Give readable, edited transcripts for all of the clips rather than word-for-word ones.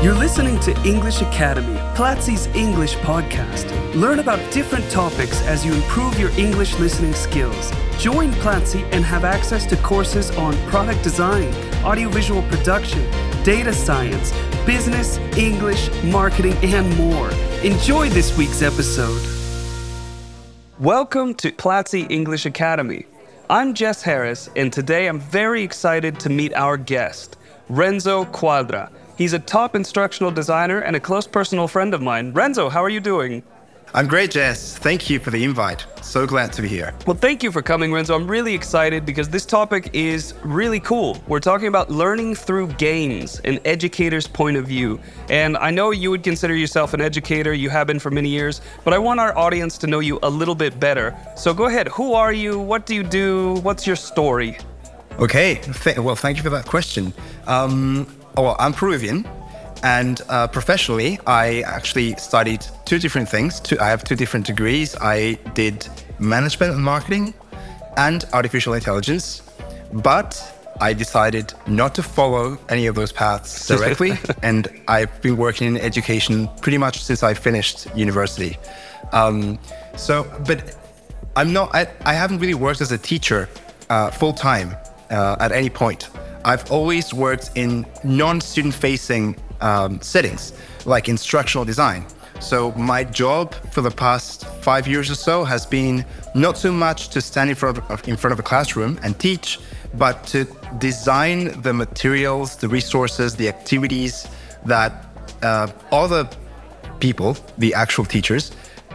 You're listening to English Academy, Platzi's English podcast. Learn about different topics as you improve your English listening skills. Join Platzi and have access to courses on product design, audiovisual production, data science, business, English, marketing, and more. Enjoy this week's episode. Welcome to Platzi English Academy. I'm Jess Harris, and today I'm very excited to meet our guest, Renzo Quadra. He's a top instructional designer and a close personal friend of mine. Renzo, how are you doing? I'm great, Jess. Thank you for the invite. So glad to be here. Well, thank you for coming, Renzo. I'm really excited because this topic is really cool. We're talking about learning through games, an educator's point of view. And I know you would consider yourself an educator. You have been for many years. But I want our audience to know you a little bit better. So go ahead. Who are you? What do you do? What's your story? Okay. Well, thank you for that question. Well, I'm Peruvian, and professionally, I actually studied two different things. I have two different degrees. I did management and marketing and artificial intelligence, but I decided not to follow any of those paths directly, and I've been working in education pretty much since I finished university. But I haven't really worked as a teacher full-time at any point. I've always worked in non-student-facing settings, like instructional design. So my job for the past 5 years or so has been not so much to stand in front of a classroom and teach, but to design the materials, the resources, the activities that other people, the actual teachers,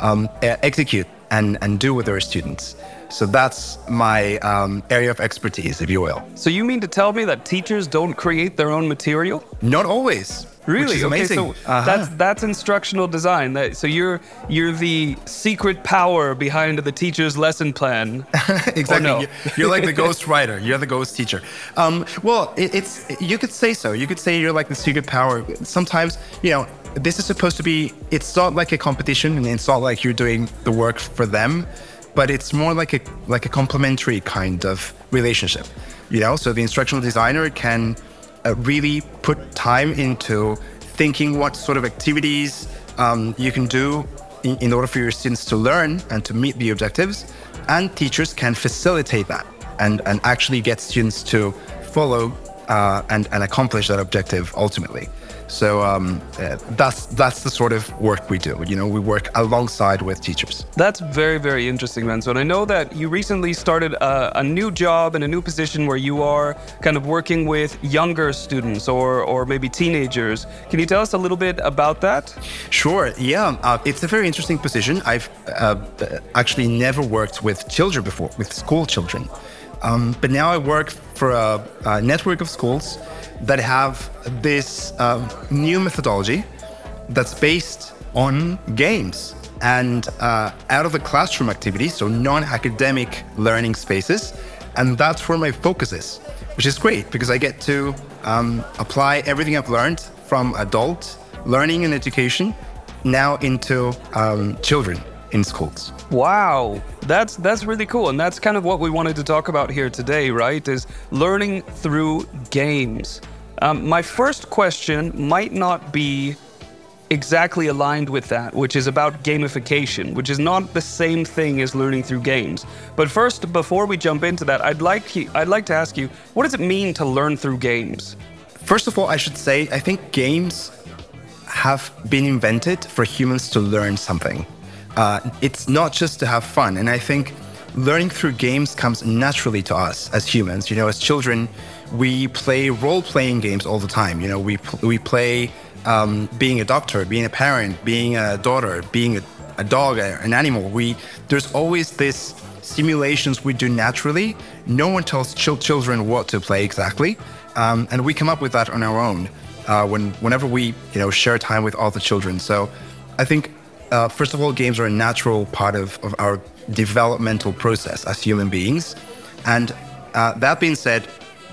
execute and do with their students. So that's my area of expertise, if you will. So you mean to tell me that teachers don't create their own material? Not always. Really? Which is amazing. Okay, so that's instructional design. So you're the secret power behind the teacher's lesson plan. Exactly. No? You're like the ghost writer. You're the ghost teacher. Well, it's you could say so. You could say you're like the secret power. Sometimes, this is supposed to be. It's not like a competition, and it's not like you're doing the work for them. But it's more like a complementary kind of relationship, So the instructional designer can really put time into thinking what sort of activities you can do in order for your students to learn and to meet the objectives. And teachers can facilitate that and actually get students to follow and accomplish that objective ultimately. So that's the sort of work we do. We work alongside with teachers. That's very, very interesting, Renzo. And I know that you recently started a new job and a new position where you are kind of working with younger students or maybe teenagers. Can you tell us a little bit about that? Sure. Yeah. It's a very interesting position. I've actually never worked with children before, with school children. But now I work for a network of schools that have this new methodology that's based on games and out of the classroom activities, so non-academic learning spaces. And that's where my focus is, which is great because I get to apply everything I've learned from adult learning and education now into children in schools. Wow, that's really cool. And that's kind of what we wanted to talk about here today, right? Is learning through games. My first question might not be exactly aligned with that, which is about gamification, which is not the same thing as learning through games. But first, before we jump into that, I'd like to ask you, what does it mean to learn through games? First of all, I should say, I think games have been invented for humans to learn something. It's not just to have fun. And I think learning through games comes naturally to us as humans. As children, we play role-playing games all the time. We play being a doctor, being a parent, being a daughter, being a dog, an animal. There's always this simulations we do naturally. No one tells children what to play exactly. And we come up with that on our own whenever we share time with other children. So I think first of all, games are a natural part of our developmental process as human beings. And that being said,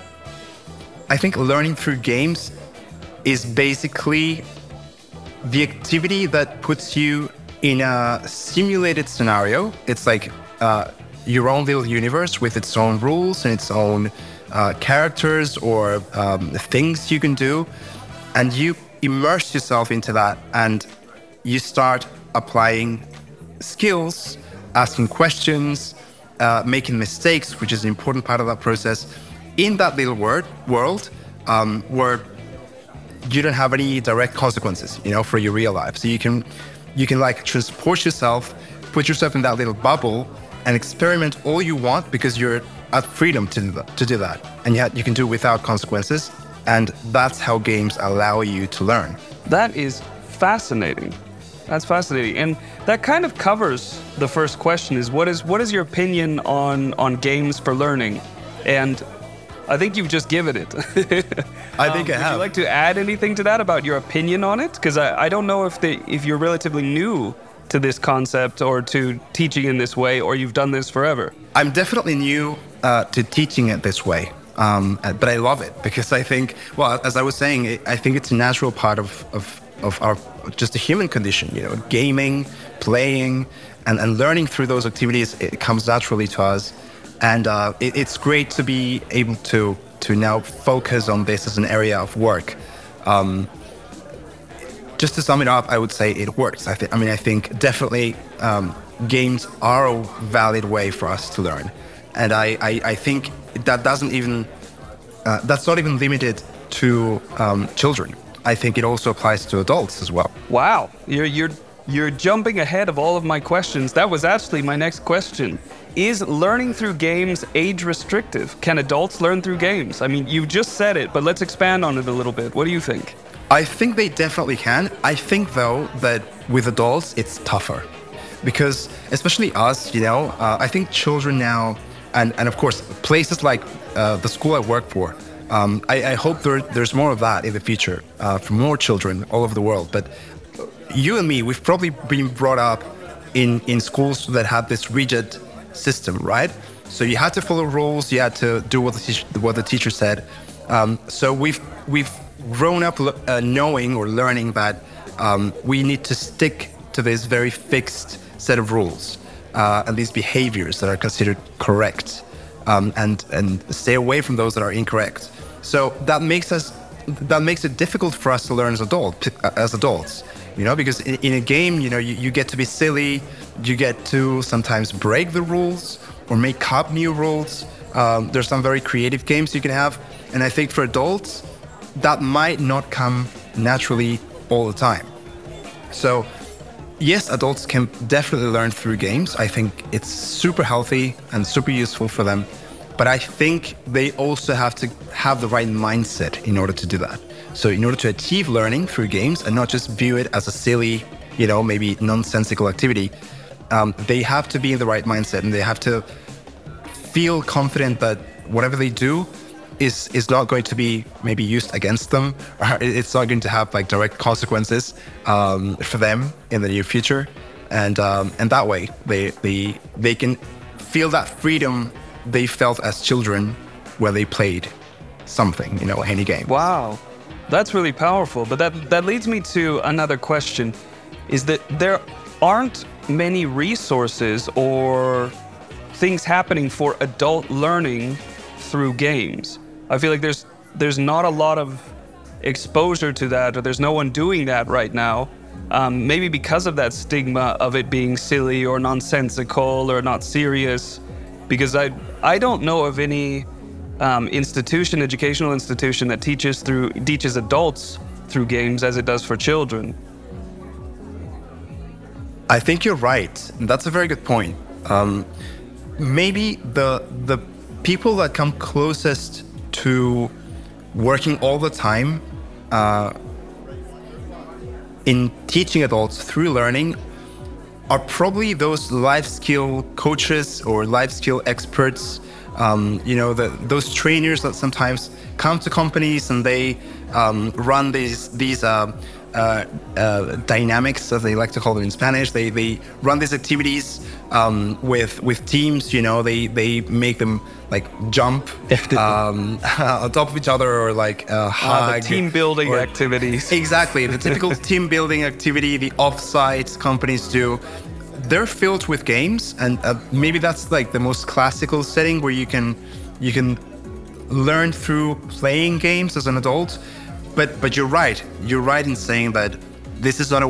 I think learning through games is basically the activity that puts you in a simulated scenario. It's like your own little universe with its own rules and its own characters or things you can do. And you immerse yourself into that and you start applying skills, asking questions, making mistakes, which is an important part of that process, in that little world where you don't have any direct consequences, for your real life. So you can like transport yourself, put yourself in that little bubble and experiment all you want because you're at freedom to do that. And yet you can do it without consequences. And that's how games allow you to learn. That is fascinating. That's fascinating. And that kind of covers the first question is what is your opinion on games for learning? And I think you've just given it. I think I have. Would you like to add anything to that about your opinion on it? Because I don't know if you're relatively new to this concept or to teaching in this way, or you've done this forever. I'm definitely new to teaching it this way. But I love it because I think, well, as I was saying, I think it's a natural part of our just the human condition, gaming, playing, and learning through those activities. It comes naturally to us, and it's great to be able to now focus on this as an area of work. Just to sum it up, I would say it works. I think definitely games are a valid way for us to learn, and I think that doesn't even that's not even limited to children. I think it also applies to adults as well. Wow, you're jumping ahead of all of my questions. That was actually my next question. Is learning through games age restrictive? Can adults learn through games? I mean, you just said it, but let's expand on it a little bit. What do you think? I think they definitely can. I think, though, that with adults, it's tougher. Because, especially us, I think children now, and of course, places like the school I work for, I hope there's more of that in the future for more children all over the world. But you and me, we've probably been brought up in schools that had this rigid system, right? So you had to follow rules, you had to do what the teacher said. So we've grown up knowing or learning that we need to stick to this very fixed set of rules and these behaviors that are considered correct, and stay away from those that are incorrect. So that makes it difficult for us to learn as adults, because in a game, you get to be silly, you get to sometimes break the rules or make up new rules. There's some very creative games you can have, and I think for adults, that might not come naturally all the time. So yes, adults can definitely learn through games. I think it's super healthy and super useful for them. But I think they also have to have the right mindset in order to do that. So in order to achieve learning through games and not just view it as a silly, maybe nonsensical activity, they have to be in the right mindset and they have to feel confident that whatever they do is not going to be maybe used against them, or it's not going to have like direct consequences for them in the near future, and that way they can feel that freedom they felt as children when they played something, any game. Wow, that's really powerful. But that leads me to another question: is that there aren't many resources or things happening for adult learning through games. I feel like there's not a lot of exposure to that, or there's no one doing that right now. Maybe because of that stigma of it being silly or nonsensical or not serious. Because I don't know of any educational institution that teaches adults through games as it does for children. I think you're right. That's a very good point. Maybe the people that come closest to working all the time in teaching adults through learning are probably those life skill coaches or life skill experts, those trainers that sometimes come to companies and they run these dynamics, as they like to call them in Spanish. They run these activities with teams. They make them like jump on top of each other or like hug. The team building activities. Exactly, the typical team building activity the offsite companies do. They're filled with games, and maybe that's like the most classical setting where you can learn through playing games as an adult. But you're right. You're right in saying that this is not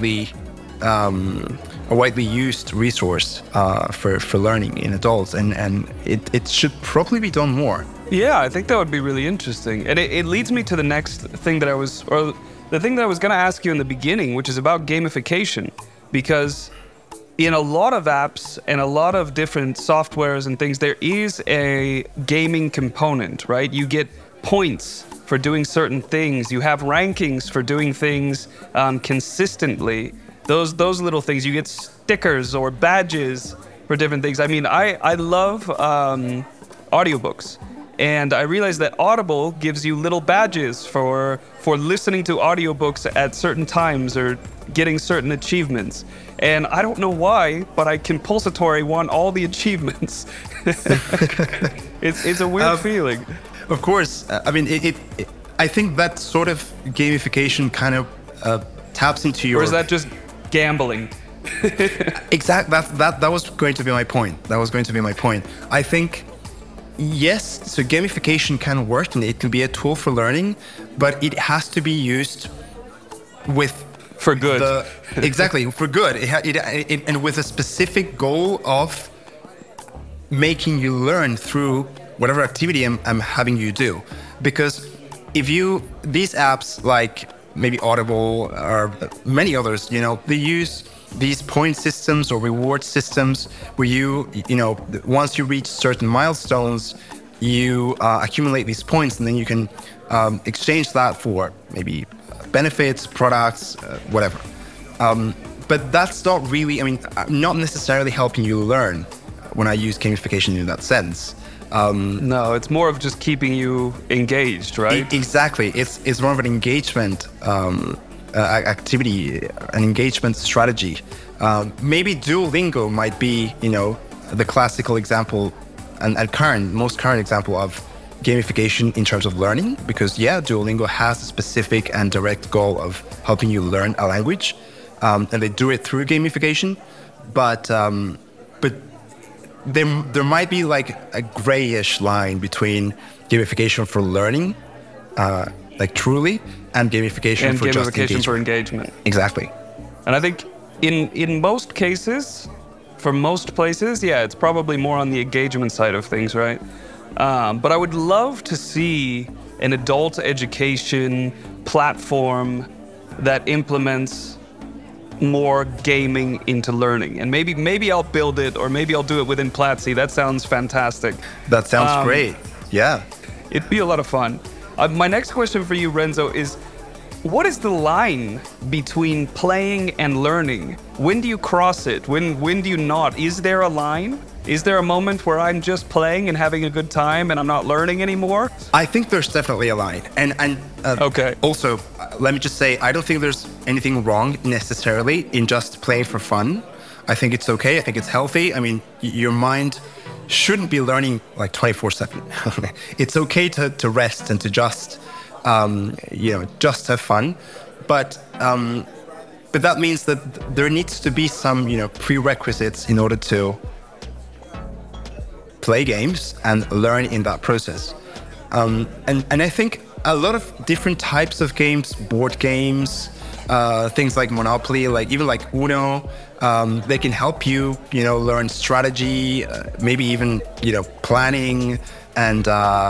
a widely used resource for learning in adults, and it should probably be done more. Yeah, I think that would be really interesting. And it leads me to the next thing that the thing that I was going to ask you in the beginning, which is about gamification. Because in a lot of apps and a lot of different softwares and things, there is a gaming component, right? You get points for doing certain things. You have rankings for doing things consistently. Those little things. You get stickers or badges for different things. I mean, I love audiobooks. And I realized that Audible gives you little badges for listening to audiobooks at certain times or getting certain achievements. And I don't know why, but I compulsory want all the achievements. It's a weird feeling. Of course. I mean, I think that sort of gamification kind of taps into your... Or is that just gambling? Exactly. That was going to be my point. I think... Yes, so gamification can work and it can be a tool for learning, but it has to be used with... For good. Exactly, for good. And with a specific goal of making you learn through whatever activity I'm having you do. Because these apps like maybe Audible or many others, they use these point systems or reward systems where once you reach certain milestones, you accumulate these points, and then you can exchange that for maybe benefits, products, whatever. But that's not really, not necessarily helping you learn when I use gamification in that sense. No, it's more of just keeping you engaged, right? Exactly. It's more of an engagement activity, an engagement strategy. Maybe Duolingo might be, the classical example and most current example of gamification in terms of learning, because Duolingo has a specific and direct goal of helping you learn a language, and they do it through gamification. But there might be like a grayish line between gamification for learning, like truly, and gamification for just engagement. For engagement. Exactly. And I think in most cases, for most places, it's probably more on the engagement side of things, right? But I would love to see an adult education platform that implements more gaming into learning. And maybe I'll build it, or maybe I'll do it within Platzi. That sounds fantastic. That sounds great. Yeah. It'd be a lot of fun. My next question for you, Renzo, is what is the line between playing and learning? When do you cross it? When do you not? Is there a line? Is there a moment where I'm just playing and having a good time and I'm not learning anymore? I think there's definitely a line. And okay. Also, let me just say, I don't think there's anything wrong necessarily in just playing for fun. I think it's okay. I think it's healthy. I mean, your mind shouldn't be learning like 24/7. It's okay to rest and to just have fun. But that means that there needs to be some, prerequisites in order to play games and learn in that process. And I think a lot of different types of games, board games, things like Monopoly, even like Uno, they can help you, learn strategy, maybe even, planning and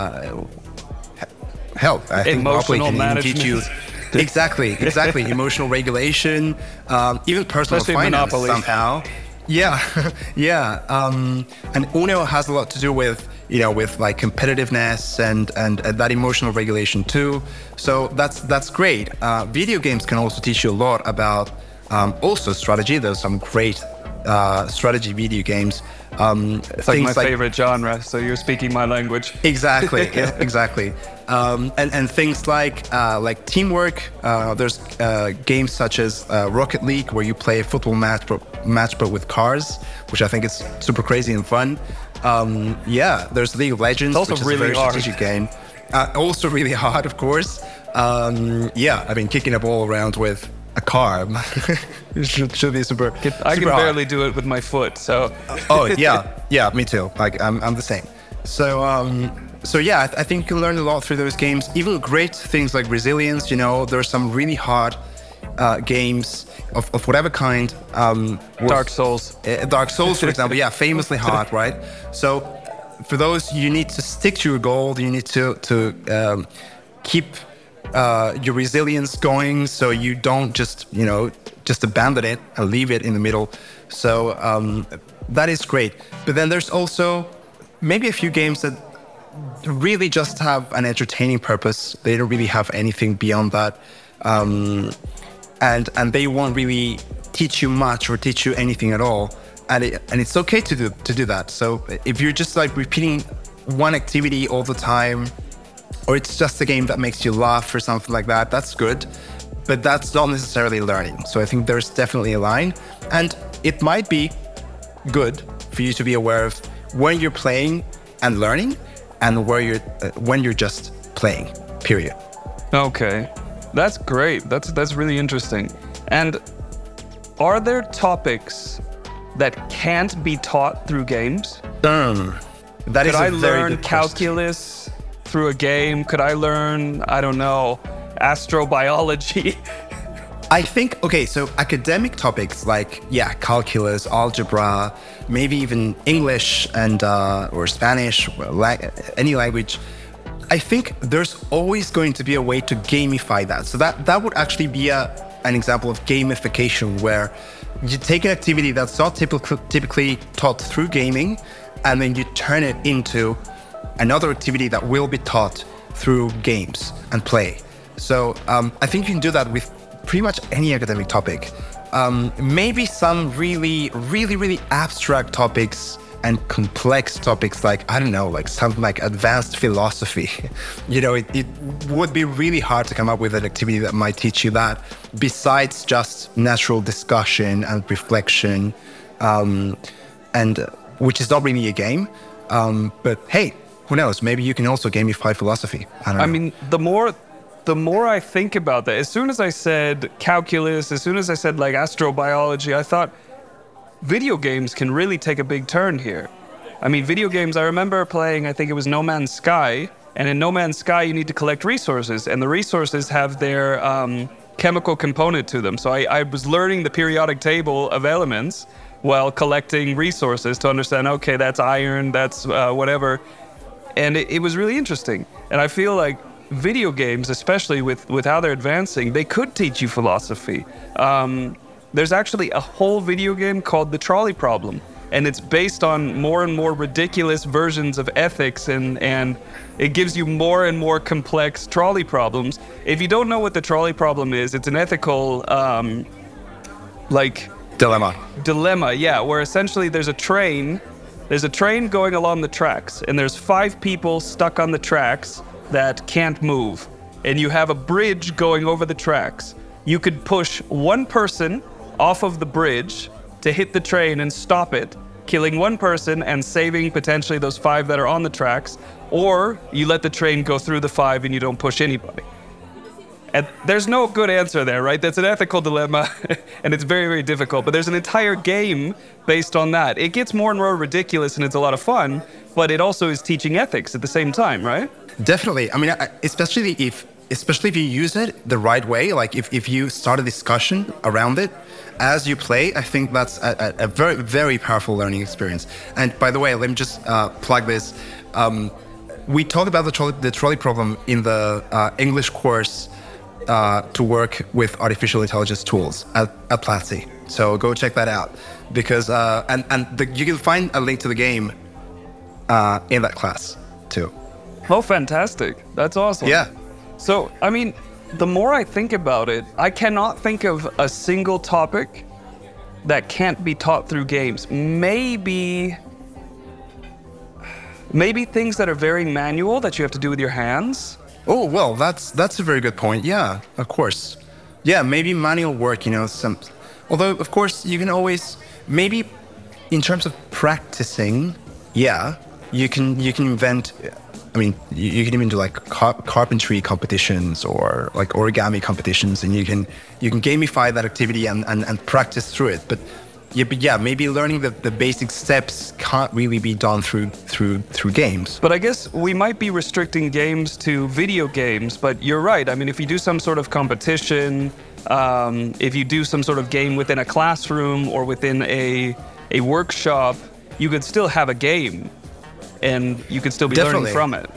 hell, I think Monopoly can even teach you exactly emotional regulation, even personal Especially finance Monopoly. somehow. Yeah. And Uno has a lot to do with like competitiveness and that emotional regulation too. So that's great. Video games can also teach you a lot about also strategy. There's some great strategy video games. It's like my favorite genre, so you're speaking my language. Exactly, exactly. And things like teamwork. There's games such as Rocket League, where you play a football match but with cars, which I think is super crazy and fun. There's League of Legends, which is really a very hard. strategic game. Also really hard, of course. Kicking a ball around with a car should be super. I can barely do it with my foot, so. Oh yeah, me too. Like I'm the same. So So yeah, I think you can learn a lot through those games. Even great things like resilience. There are some really hard games of whatever kind. Dark Souls. Dark Souls, for example, yeah, famously hard, right? So for those, you need to stick to your goal. You need to keep your resilience going, so you don't just abandon it and leave it in the middle. So that is great. But then there's also maybe a few games that really just have an entertaining purpose. They don't really have anything beyond that. And they won't really teach you much or teach you anything at all. And it's okay to do that. So if you're just like repeating one activity all the time, or it's just a game that makes you laugh or something like that, that's good. But that's not necessarily learning. So I think there's definitely a line. And it might be good for you to be aware of when you're playing and learning, and when you're just playing, period. Okay, that's great. That's really interesting. And are there topics that can't be taught through games? That is a very good question. Could I learn calculus through a game? Could I learn, I don't know, astrobiology? I think, okay, so academic topics like, calculus, algebra, maybe even English and or Spanish, any language, I think there's always going to be a way to gamify that. So that would actually be an example of gamification, where you take an activity that's not typically taught through gaming, and then you turn it into another activity that will be taught through games and play. So I think you can do that with pretty much any academic topic. Maybe some really, really, really abstract topics and complex topics like, I don't know, like something like advanced philosophy. It would be really hard to come up with an activity that might teach you that, besides just natural discussion and reflection, and which is not really a game. But hey, who knows? Maybe you can also gamify philosophy. I don't know. I mean, the more I think about that, as soon as I said calculus, as soon as I said like astrobiology, I thought video games can really take a big turn here. I mean, video games, I remember playing, I think it was No Man's Sky, and in No Man's Sky you need to collect resources, and the resources have their chemical component to them. So I was learning the periodic table of elements while collecting resources to understand, okay, that's iron, that's whatever. And it was really interesting. And I feel like video games, especially with how they're advancing, they could teach you philosophy. There's actually a whole video game called The Trolley Problem, and it's based on more and more ridiculous versions of ethics, and it gives you more and more complex trolley problems. If you don't know what the trolley problem is, it's an ethical, dilemma, yeah, where essentially there's a train going along the tracks, and there's 5 people stuck on the tracks that can't move, and you have a bridge going over the tracks. You could push one person off of the bridge to hit the train and stop it, killing one person and saving potentially those 5 that are on the tracks, or you let the train go through the 5 and you don't push anybody. And there's no good answer there, right? That's an ethical dilemma, and it's very, very difficult. But there's an entire game based on that. It gets more and more ridiculous, and it's a lot of fun, but it also is teaching ethics at the same time, right? Definitely. I mean, especially if you use it the right way, like if you start a discussion around it as you play, I think that's a very, very powerful learning experience. And by the way, let me just plug this. We talked about the trolley problem in the English course to work with artificial intelligence tools at Platzi. So go check that out, because you can find a link to the game in that class too. Oh, fantastic. That's awesome. Yeah. So, I mean, the more I think about it, I cannot think of a single topic that can't be taught through games. Maybe things that are very manual that you have to do with your hands. Oh, well, that's a very good point. Yeah, of course. Yeah, maybe manual work, although, of course, you can always, maybe in terms of practicing, yeah, you can invent, I mean, you can even do like carpentry competitions or like origami competitions, and you can gamify that activity and practice through it. But yeah, but yeah, maybe learning the basic steps can't really be done through games. But I guess we might be restricting games to video games, but you're right. I mean, if you do some sort of competition, if you do some sort of game within a classroom or within a workshop, you could still have a game and you could still be learning from it.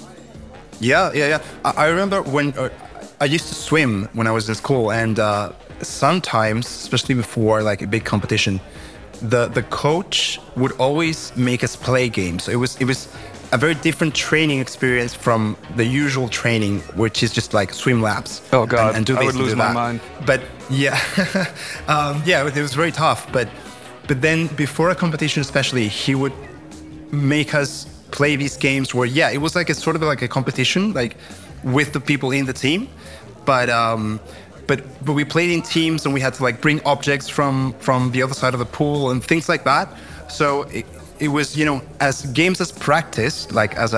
Yeah. I remember when I used to swim when I was in school, and sometimes, especially before like a big competition, the coach would always make us play games. So it was a very different training experience from the usual training, which is just like swim laps. Oh God, and do I would lose my mind. But yeah, yeah, it was very tough. But then before a competition, especially, he would make us play these games where, yeah, it was like a sort of like a competition, like with the people in the team, but we played in teams, and we had to like bring objects from the other side of the pool and things like that. So it was, you know, as games as practice, like as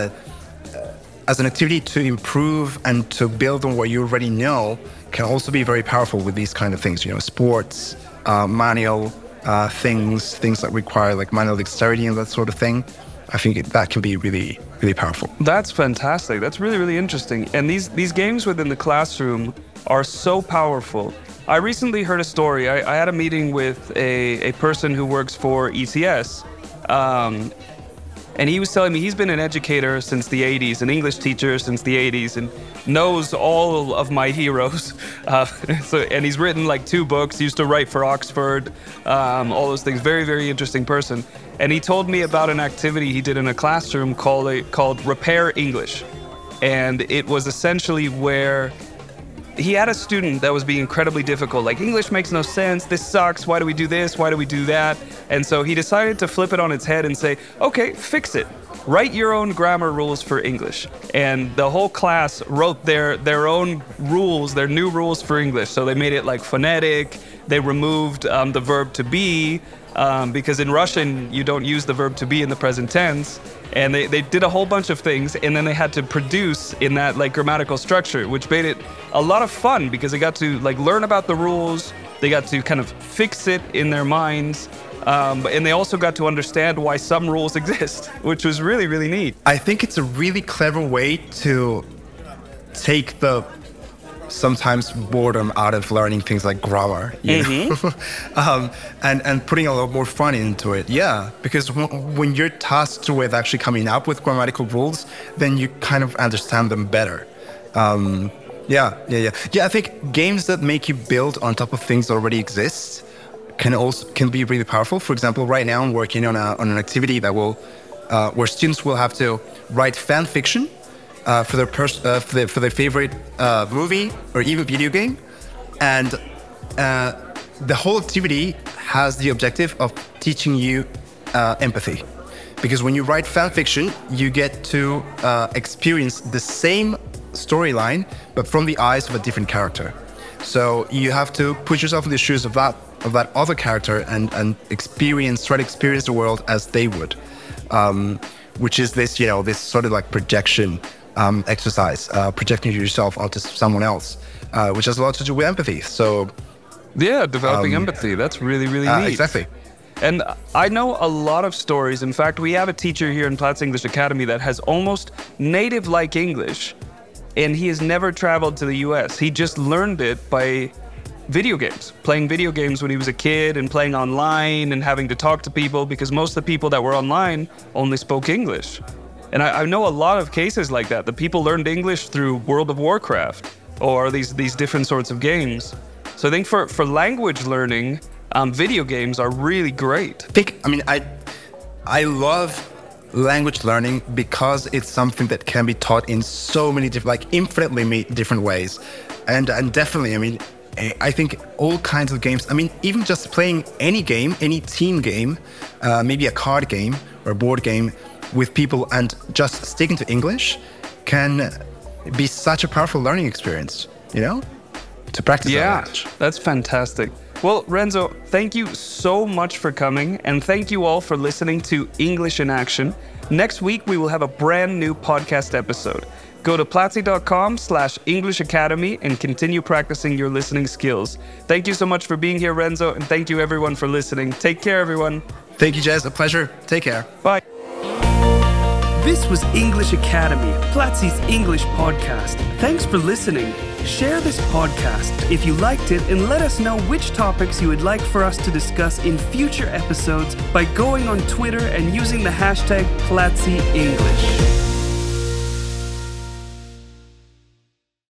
an activity to improve and to build on what you already know, can also be very powerful with these kind of things. You know, sports, manual things that require like manual dexterity and that sort of thing. I think that can be really, really powerful. That's fantastic. That's really, really interesting. And these games within the classroom are so powerful. I recently heard a story. I had a meeting with a person who works for ECS. And he was telling me he's been an educator since the 80s, an English teacher since the 80s, and knows all of my heroes. And he's written like 2 books, he used to write for Oxford, all those things. Very, very interesting person. And he told me about an activity he did in a classroom called Repair English. And it was essentially where he had a student that was being incredibly difficult. Like, English makes no sense. This sucks. Why do we do this? Why do we do that? And so he decided to flip it on its head and say, okay, fix it. Write your own grammar rules for English. And the whole class wrote their own rules, their new rules for English. So they made it like phonetic. They removed the verb to be, because in Russian, you don't use the verb to be in the present tense. And they did a whole bunch of things, and then they had to produce in that like grammatical structure, which made it a lot of fun because they got to like learn about the rules. They got to kind of fix it in their minds. And they also got to understand why some rules exist, which was really, really neat. I think it's a really clever way to take the sometimes boredom out of learning things like grammar, you know? And putting a lot more fun into it. Yeah, because when you're tasked with actually coming up with grammatical rules, then you kind of understand them better. Yeah. I think games that make you build on top of things that already exist can be really powerful. For example, right now I'm working on an activity that will where students will have to write fan fiction for their favorite movie or even video game, and the whole activity has the objective of teaching you empathy, because when you write fan fiction, you get to experience the same storyline but from the eyes of a different character. So you have to put yourself in the shoes of that other character and try to experience the world as they would, which is this sort of like projection exercise, projecting yourself onto someone else, which has a lot to do with empathy. So yeah, developing empathy. That's really, really neat. Exactly. And I know a lot of stories. In fact, we have a teacher here in Platts English Academy that has almost native-like English, and he has never traveled to the US. He just learned it by video games, playing video games when he was a kid and playing online and having to talk to people, because most of the people that were online only spoke English. And I know a lot of cases like that. The people learned English through World of Warcraft or these different sorts of games. So I think for language learning, video games are really great. I love language learning because it's something that can be taught in so many different, like infinitely different ways. And definitely, I think all kinds of games, even just playing any game, any team game, maybe a card game or a board game with people and just sticking to English can be such a powerful learning experience, to practice that language. That's fantastic. Well, Renzo, thank you so much for coming, and thank you all for listening to English in Action. Next week, we will have a brand new podcast episode. Go to platzi.com/English Academy and continue practicing your listening skills. Thank you so much for being here, Renzo, and thank you everyone for listening. Take care, everyone. Thank you, Jez. A pleasure. Take care. Bye. This was English Academy, Platzi's English podcast. Thanks for listening. Share this podcast if you liked it and let us know which topics you would like for us to discuss in future episodes by going on Twitter and using the hashtag PlatziEnglish.